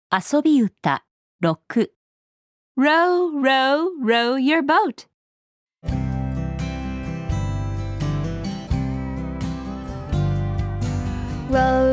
遊び歌6 Row, row, row your boat. Row,